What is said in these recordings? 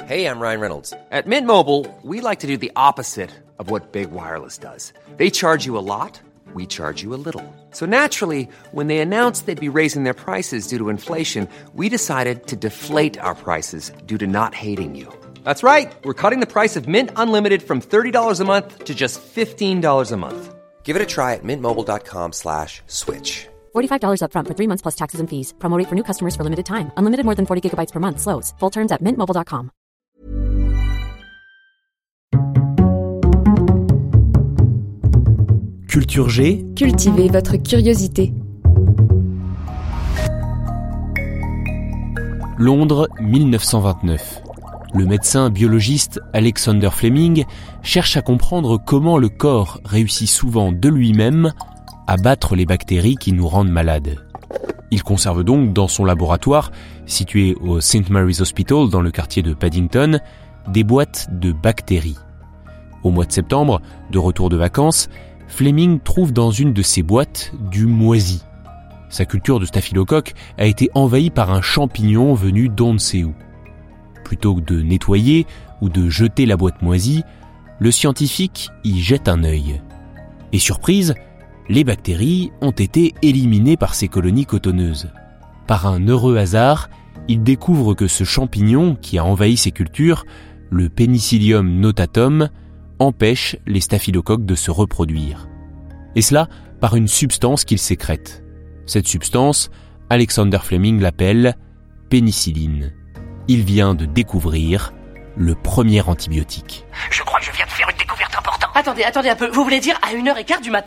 Hey, I'm Ryan Reynolds. At Mint Mobile, we like to do the opposite of what Big Wireless does. They charge you a lot, we charge you a little. So naturally, when they announced they'd be raising their prices due to inflation, we decided to deflate our prices due to not hating you. That's right. We're cutting the price of Mint Unlimited from $30 a month to just $15 a month. Give it a try at mintmobile.com/switch. $45 up front for 3 months plus taxes and fees. Promo rate for new customers for limited time. Unlimited more than 40 gigabytes per month. Slows full terms at mintmobile.com. Culture G. Cultivez votre curiosité. Londres, 1929. Le médecin biologiste Alexander Fleming cherche à comprendre comment le corps réussit souvent de lui-même à battre les bactéries qui nous rendent malades. Il conserve donc dans son laboratoire, situé au St. Mary's Hospital dans le quartier de Paddington, des boîtes de bactéries. Au mois de septembre, de retour de vacances, Fleming trouve dans une de ces boîtes du moisi. Sa culture de staphylocoque a été envahie par un champignon venu d'on ne sait où. Plutôt que de nettoyer ou de jeter la boîte moisie, le scientifique y jette un œil. Et surprise, les bactéries ont été éliminées par ces colonies cotonneuses. Par un heureux hasard, il découvre que ce champignon qui a envahi ses cultures, le Penicillium notatum, empêche les staphylocoques de se reproduire. Et cela par une substance qu'il sécrète. Cette substance, Alexander Fleming l'appelle pénicilline. Il vient de découvrir le premier antibiotique. Je crois que je viens de faire une découverte importante. Attendez un peu. Vous voulez dire à 1h15 du matin ?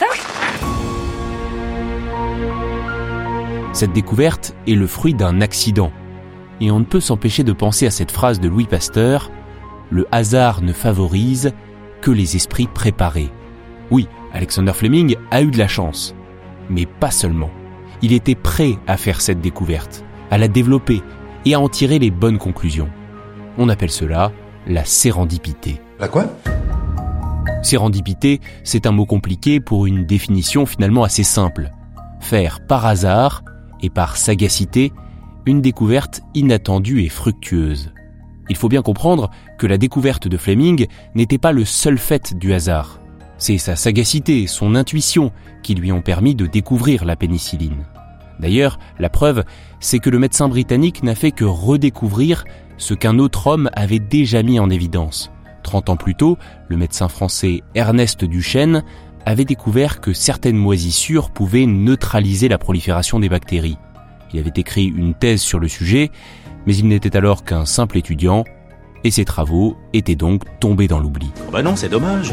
Cette découverte est le fruit d'un accident. Et on ne peut s'empêcher de penser à cette phrase de Louis Pasteur « Le hasard ne favorise que les esprits préparés ». Oui, Alexander Fleming a eu de la chance. Mais pas seulement. Il était prêt à faire cette découverte, à la développer et à en tirer les bonnes conclusions. On appelle cela la sérendipité. La quoi ? Sérendipité, c'est un mot compliqué pour une définition finalement assez simple. Faire par hasard et par sagacité une découverte inattendue et fructueuse. Il faut bien comprendre que la découverte de Fleming n'était pas le seul fait du hasard. C'est sa sagacité, son intuition qui lui ont permis de découvrir la pénicilline. D'ailleurs, la preuve, c'est que le médecin britannique n'a fait que redécouvrir ce qu'un autre homme avait déjà mis en évidence. 30 ans plus tôt, le médecin français Ernest Duchesne avait découvert que certaines moisissures pouvaient neutraliser la prolifération des bactéries. Il avait écrit une thèse sur le sujet, mais il n'était alors qu'un simple étudiant, et ses travaux étaient donc tombés dans l'oubli. Oh bah non, c'est dommage.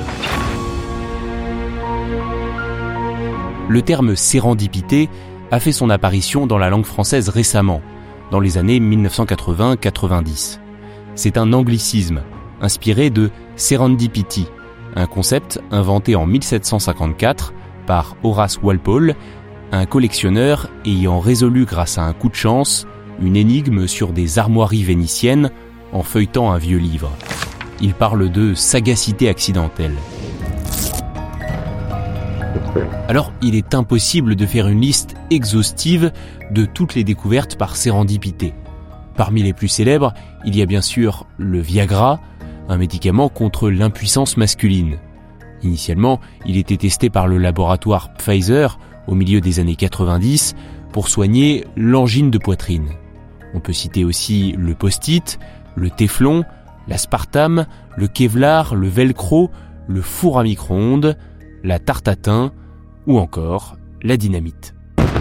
Le terme sérendipité a fait son apparition dans la langue française récemment, dans les années 1980-90. C'est un anglicisme, inspiré de serendipity, un concept inventé en 1754 par Horace Walpole, un collectionneur ayant résolu grâce à un coup de chance une énigme sur des armoiries vénitiennes en feuilletant un vieux livre. Il parle de sagacité accidentelle. Alors, il est impossible de faire une liste exhaustive de toutes les découvertes par sérendipité. Parmi les plus célèbres, il y a bien sûr le Viagra, un médicament contre l'impuissance masculine. Initialement, il était testé par le laboratoire Pfizer au milieu des années 90 pour soigner l'angine de poitrine. On peut citer aussi le post-it, le téflon, l'aspartame, le kevlar, le velcro, le four à micro-ondes, la tarte à thym ou encore la dynamite.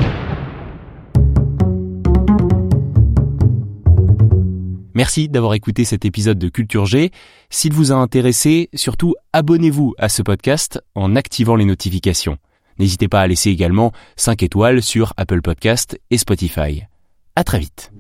Merci d'avoir écouté cet épisode de Culture G. S'il vous a intéressé, surtout abonnez-vous à ce podcast en activant les notifications. N'hésitez pas à laisser également 5 étoiles sur Apple Podcast et Spotify. À très vite.